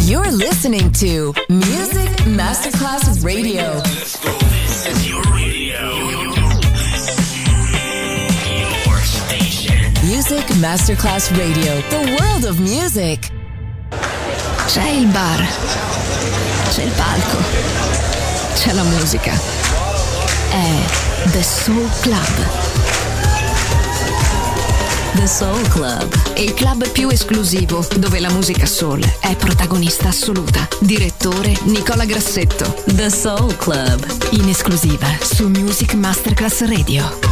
You're listening to Music Masterclass Radio. Let's go. This is your radio. Your station. Music Masterclass Radio. The world of music. C'è il bar. C'è il palco. C'è la musica. È The Soul Club. The Soul Club, il club più esclusivo dove la musica soul è protagonista assoluta. Direttore Nicola Grassetto. The Soul Club, in esclusiva su Music Masterclass Radio.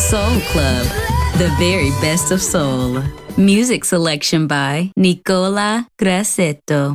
Soul Club, the very best of soul. Music selection by Nicola Grassetto.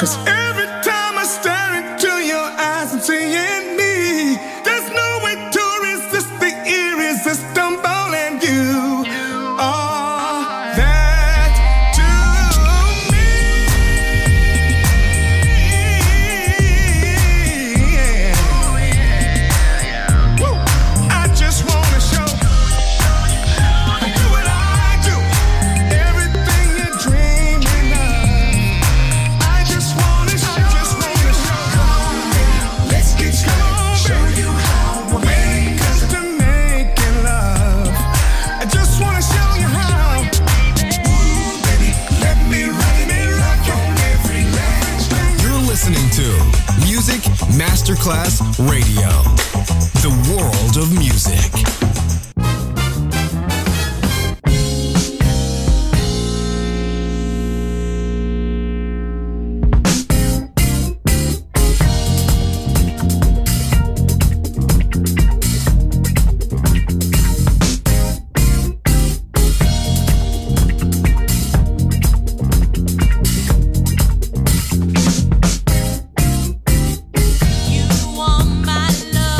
'Cause every time I stare into your eyes, I'm seeing me. There's no way to resist the irresistible, and you are that to me. Woo. I just wanna show you what I do, everything you're dreaming of. I just wanna show. Let's get started. Show you how when it comes to making love. I just wanna show you how. Ooh, baby, let me rock on every line. You're listening to Music Masterclass Radio, the world of music. You want my love.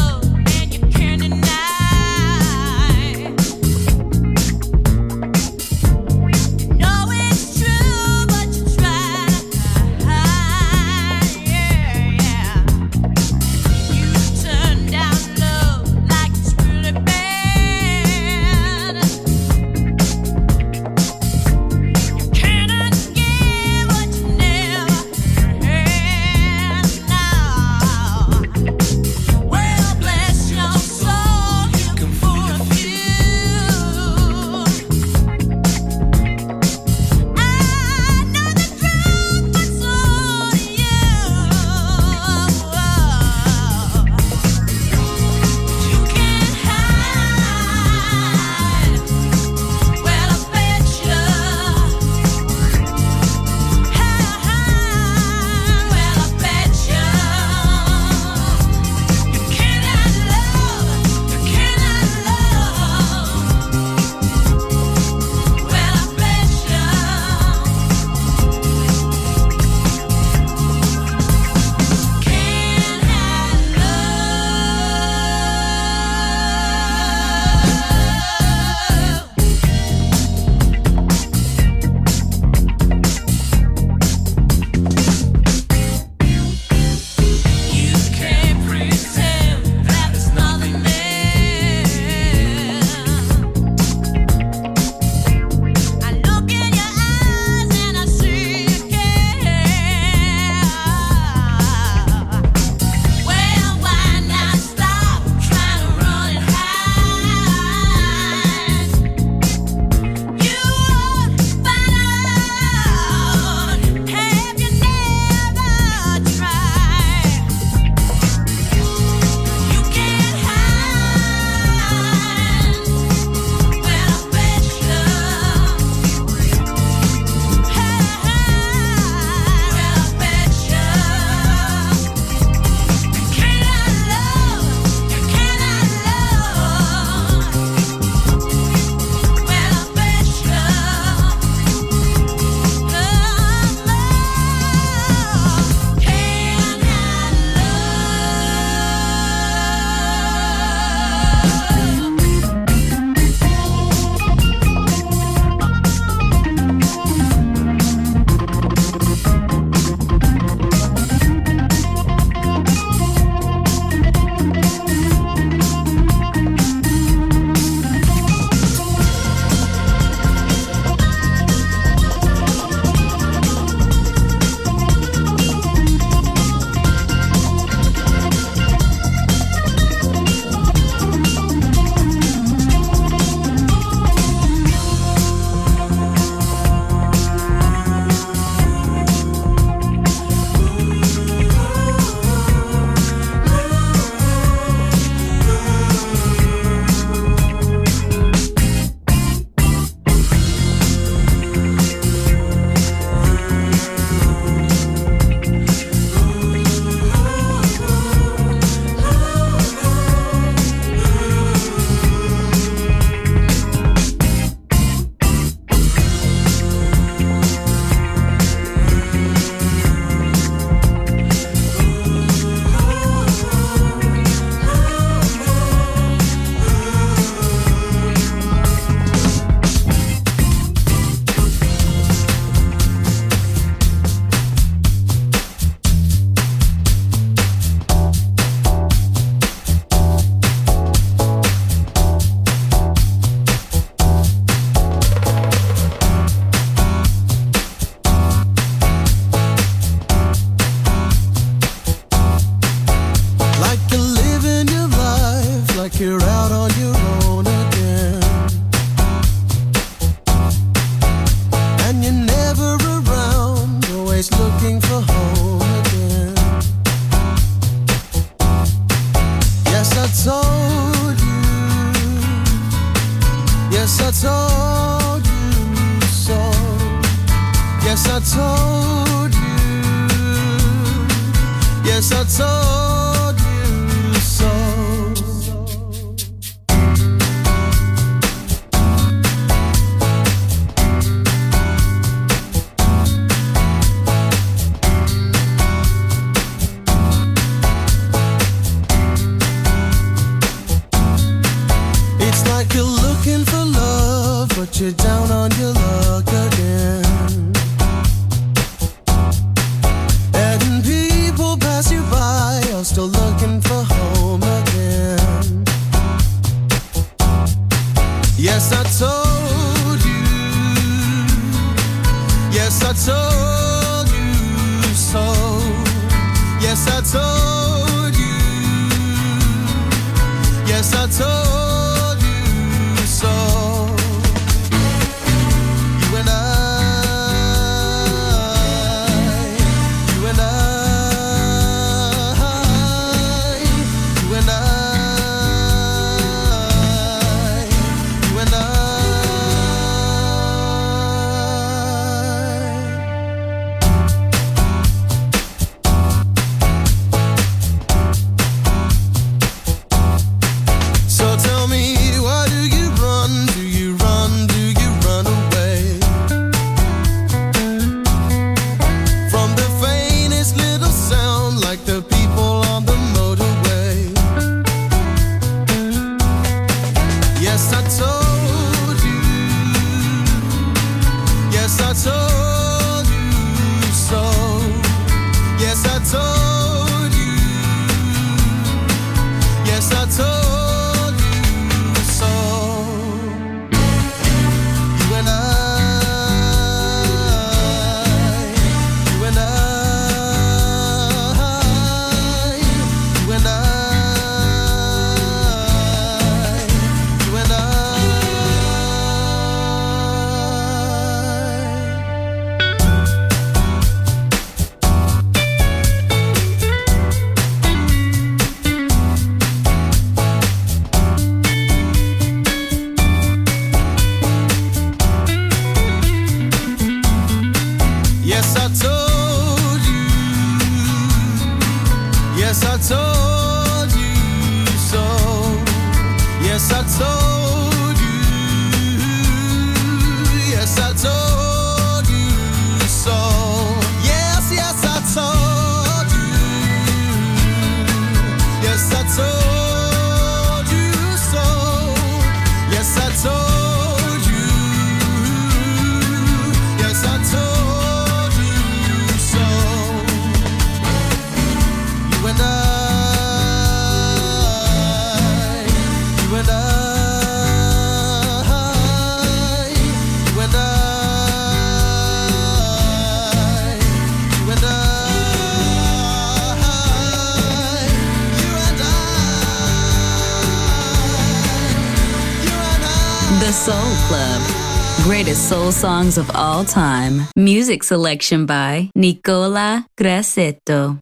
Yes, I told you so. Yes, I told you. Yes, I told you so. It's like you're looking for love, but you're down on your luck again. And people pass you by, you're still looking for home again. Yes, I told you. Yes, I told you so. Yes, I told you. Yes, I told you so. You and So tell me, why do you run? Do you run? Do you run away from the faintest little sound, like the people on the motorway? Yes, I told you. Yes, I told you so. Yes, I told you. Yes, I told you so. You and you and you and you and Yes, I told you. Yes, I told you so. Yes, I told you. Yes, I told you so. Yes, yes, I told you. Yes, I told you so. Yes, I told you. Yes, I told you so. You and you and you and you and The Soul Club. Greatest soul songs of all time. Music selection by Nicola Grassetto.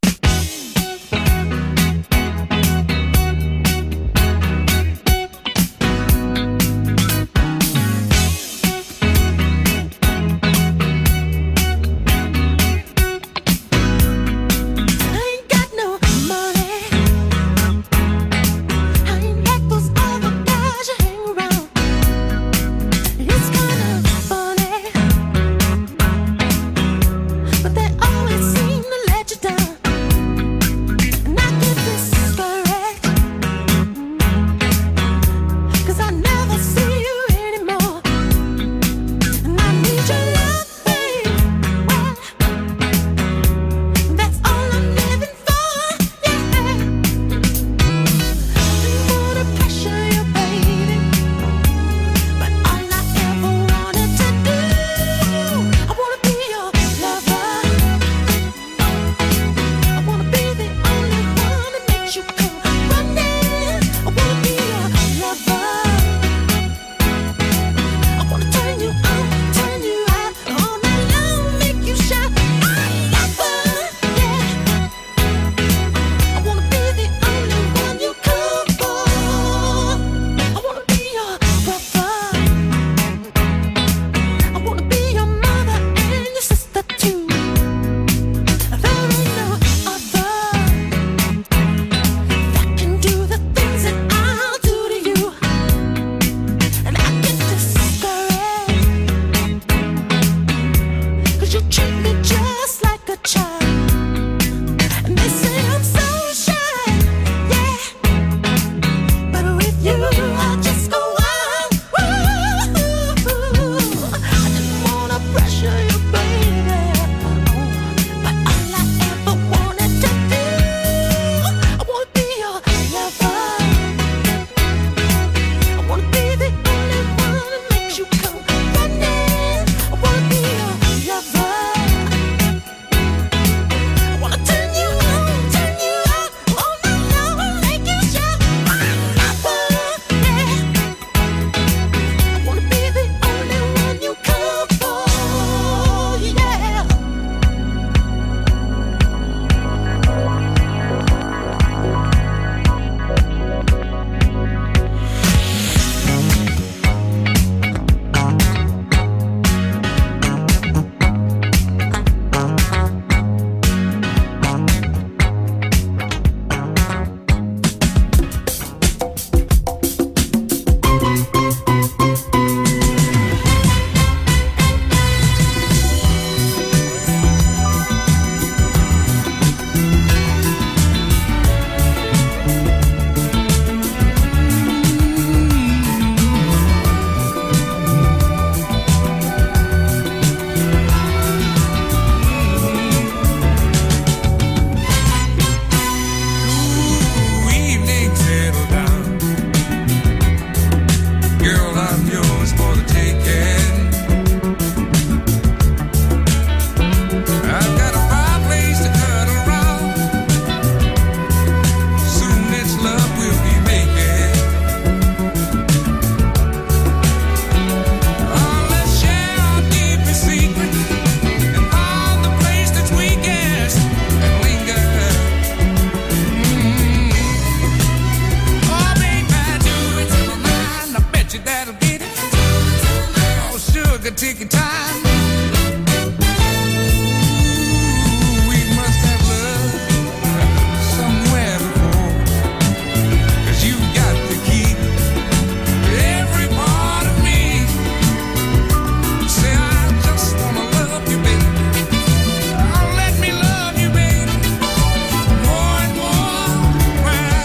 But they always seem to let you down. could take your time. Ooh, we must have love somewhere before, 'cause you got to keep every part of me. Say I just wanna love you, baby. Oh, let me love you, baby, more and more. Well,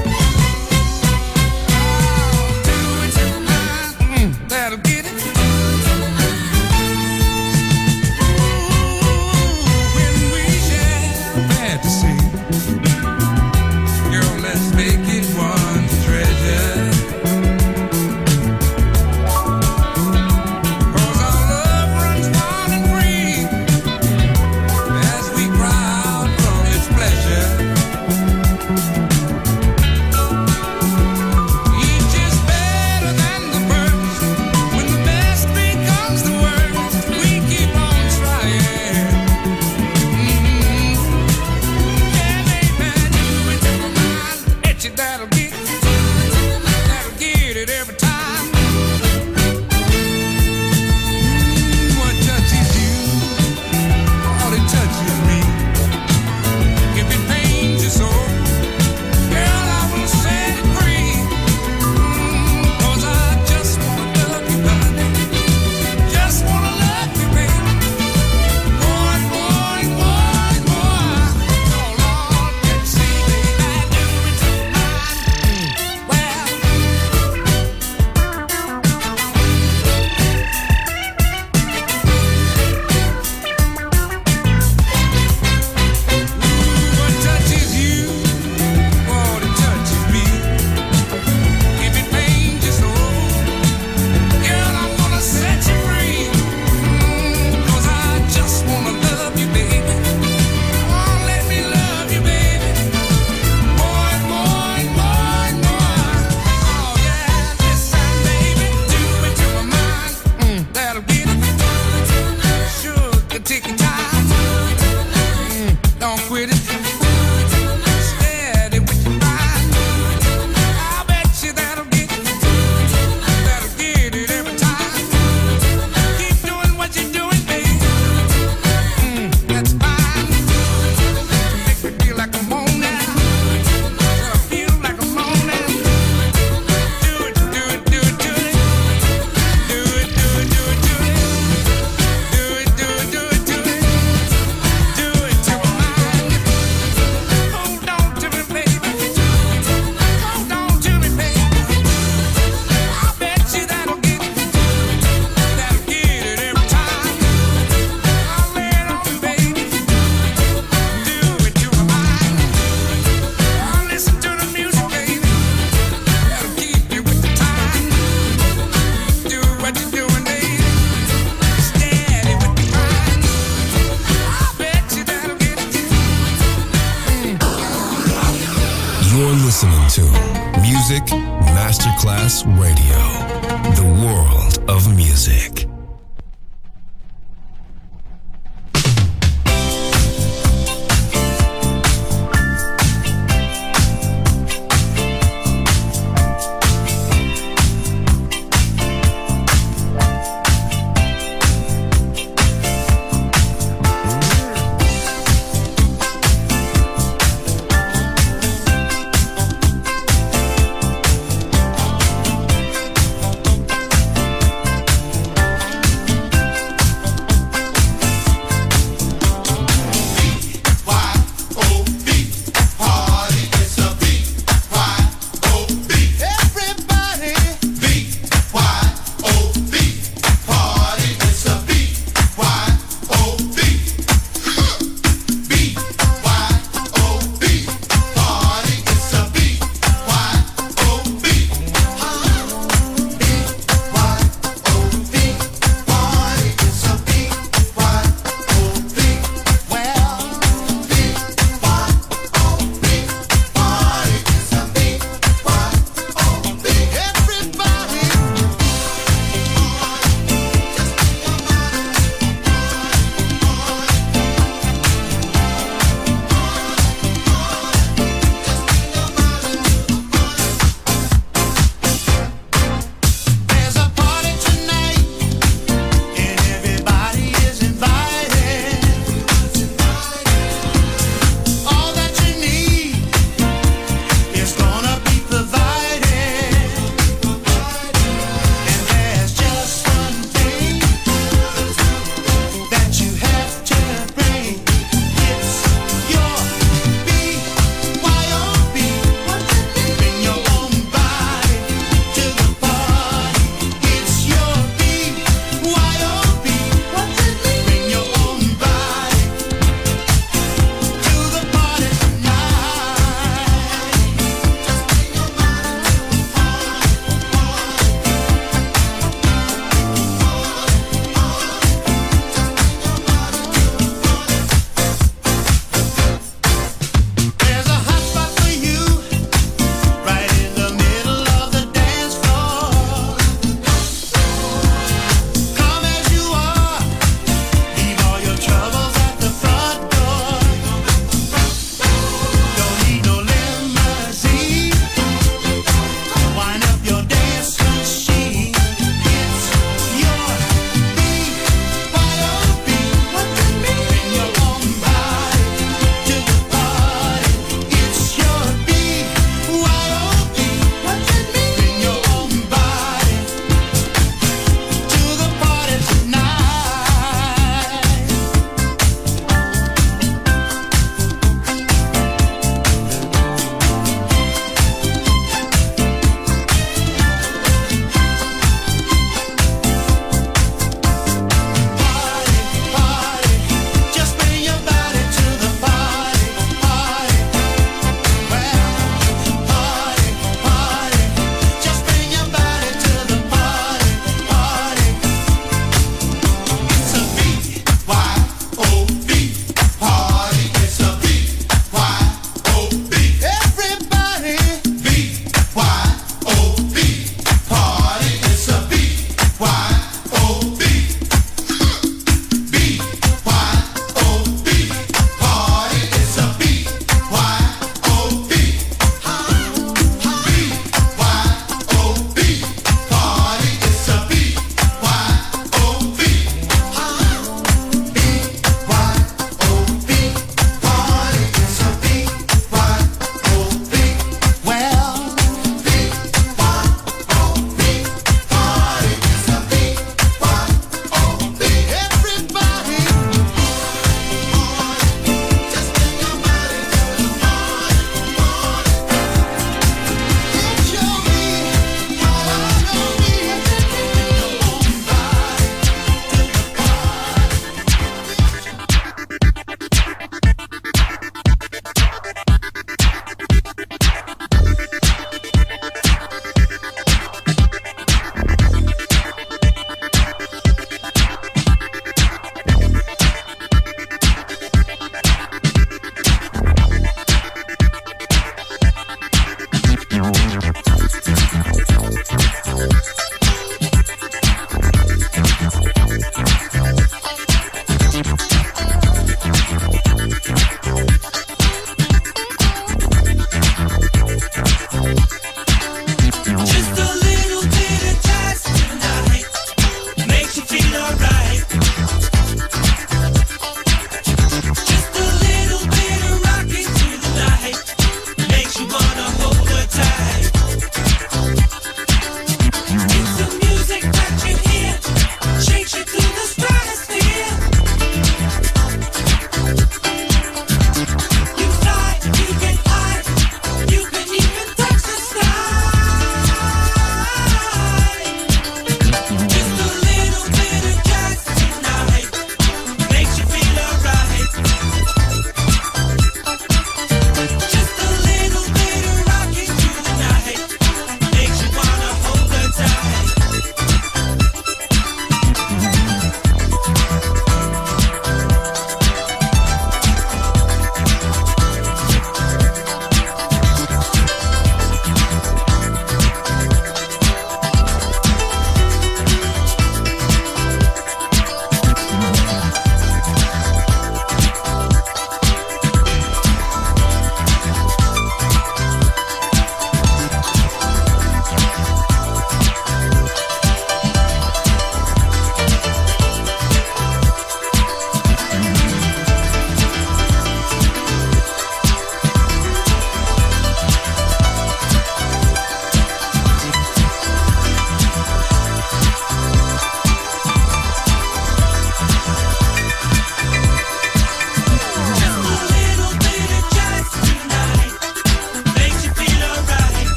do it to mine, that'll get it. Ooh, when we share fantasy, girl, let's make it one treasure. 'Cause our love runs wild and free as we cry out from its pleasure. Each is better than the first. When the best becomes the worst, we keep on trying. Yeah, baby, do it to my mind. Bet you that'll get it every time. What touches you, all it touches me. If it pains your soul, girl, I will set it free. 'Cause I just wanna love you, honey. Just wanna love you, baby. More and more and more and more. Oh, Lord, let's see, baby, do it to mine. Well, what touches you, what it touches me. If it pains your soul, girl, I'm gonna set you free. 'Cause I just wanna love you, baby. Oh, let me love you, baby. More and more and more and more. Oh, yeah, listen, baby, do it to my mind. That'll get it. Sure, could take your time. Don't quit it. Steady with your mind. I bet you that'll get it. That'll get it every time. Keep doing what you're doing, baby. That's fine. Make me feel like I'm on now. Feel like I'm on now. Do it, do it, do it, do it. Do it, do it, do it, do it. Do it, do it, do it, do it. Do it to my mind. Hold on to me, baby. Hold on to me, baby. I bet you that'll get it. That'll get it every time. I'll lay it on you, baby. Do it to my mind. I'll listen to the music, baby. That'll keep you with the time. Do what you're doing, baby. Steady with the mind. I bet you that'll get it. You're listening to Music Masterclass Radio, the world of music.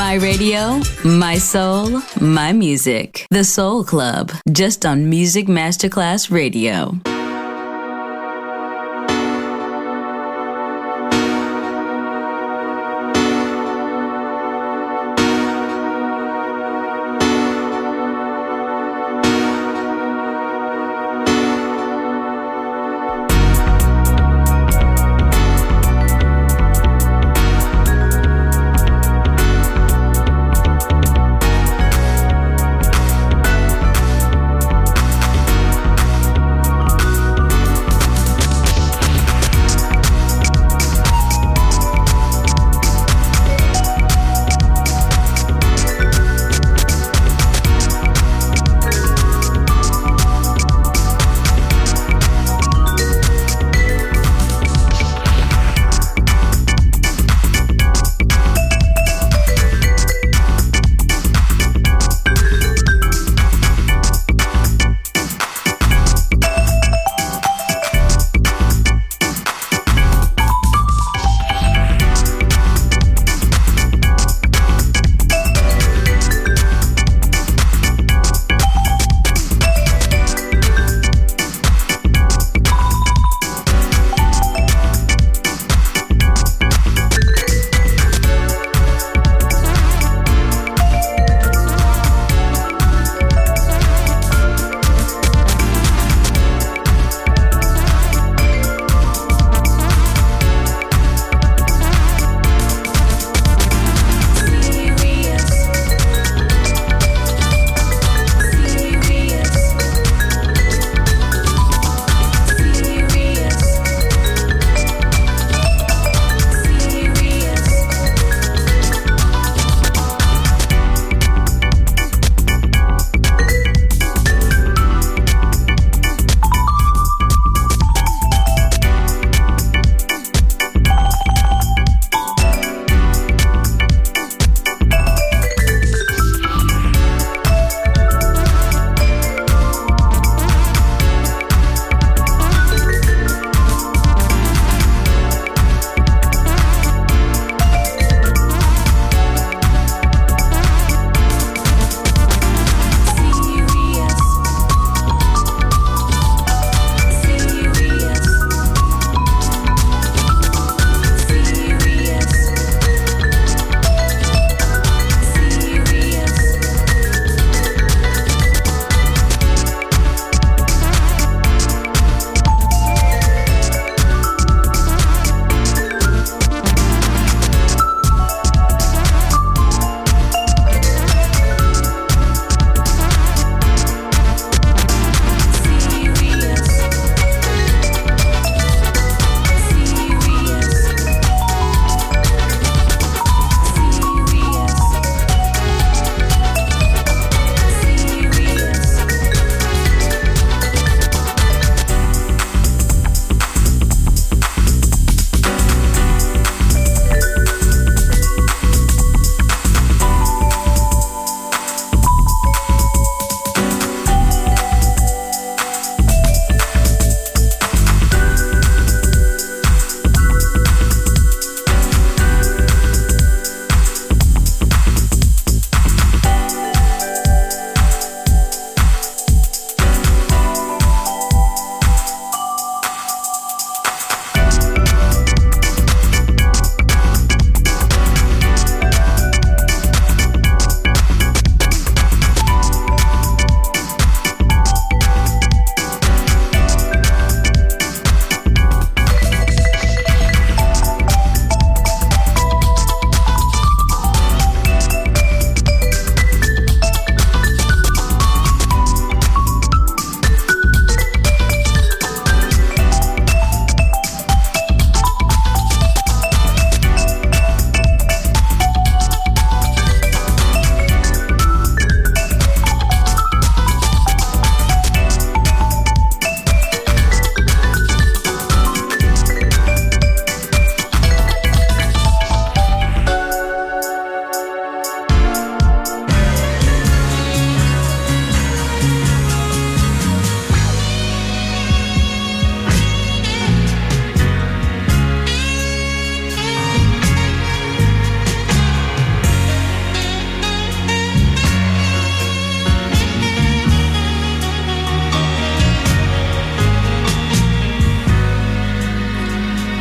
My radio, my soul, my music. The Soul Club, just on Music Masterclass Radio.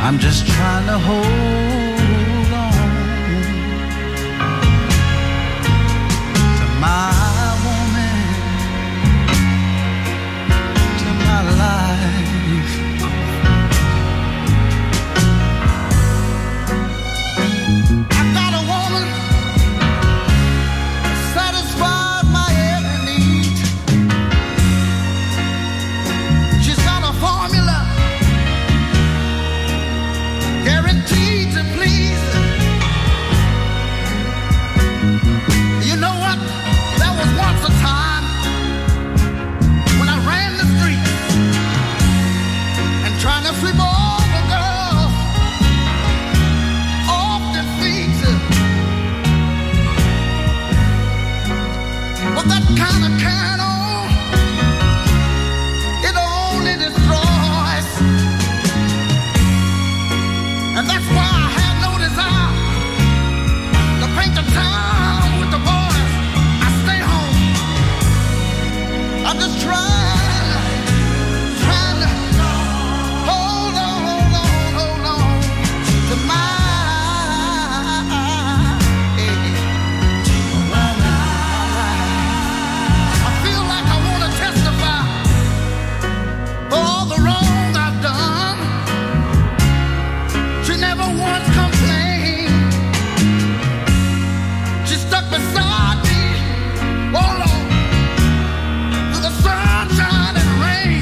I'm just trying to hold on to my woman, to my life. I got a woman that satisfies my every need. She's got a formula guaranteed to please. You know what? There was once a time when I ran the streets and trying to flip over girls off their feet. But that kind of carrying on, it only destroys. And that's why I had no desire to paint the town with the boys. I stay home. I'm just trying to hold on to my I feel like I want to testify for all the wrong I've done. She never once complained. She stuck beside me, oh Lord, through the sunshine and rain.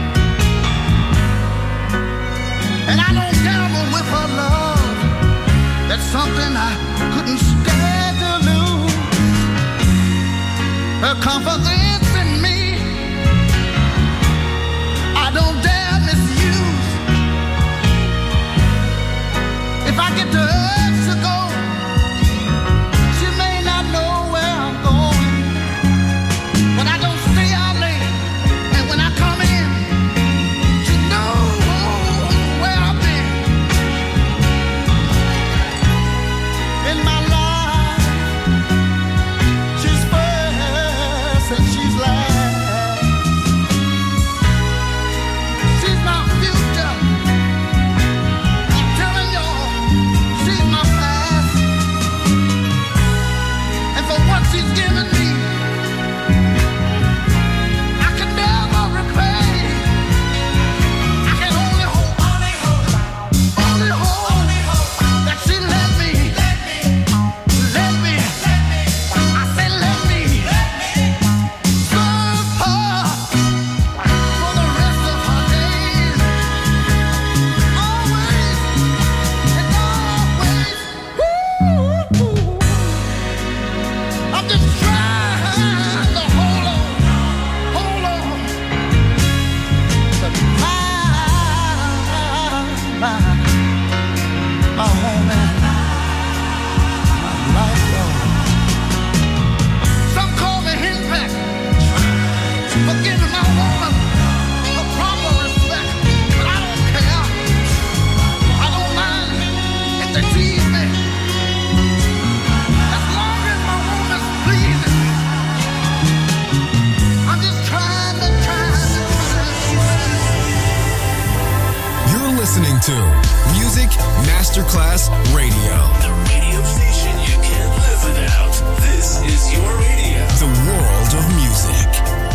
And I don't gamble with her love. That's something I couldn't stand to lose. Her confidence in me, I don't dare misuse. If I get the urge to go, she may not know where I'm going. But I don't stay out late, and when I come in, she knows where I've been. In my life, she's first and she's last. She's my future. I'm telling y'all, she's my past. And for what she's given me, I can never repay. I can only hope that she let me. I say let me serve her for the rest of her days. Always and always. Woo. I'm just trying to hold on to my home and my life. Some call me henpecked for giving my woman the proper respect, but I don't care. I don't mind if they tease me, as long as my woman's pleasing. I'm just trying to. You're listening to Music Masterclass Radio. The radio station you can't live without. This is your radio. The world of music.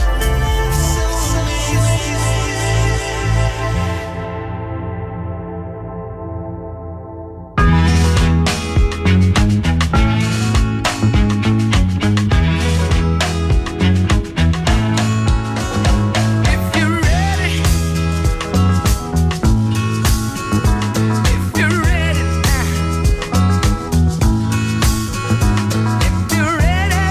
If you're ready, now. If you're ready.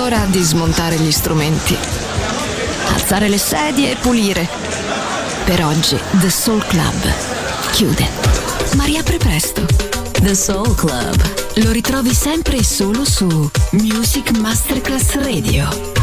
ora di smontare gli strumenti, alzare le sedie e pulire. Per oggi The Soul Club chiude, ma riapre presto. The Soul Club lo ritrovi sempre e solo su Music Masterclass Radio.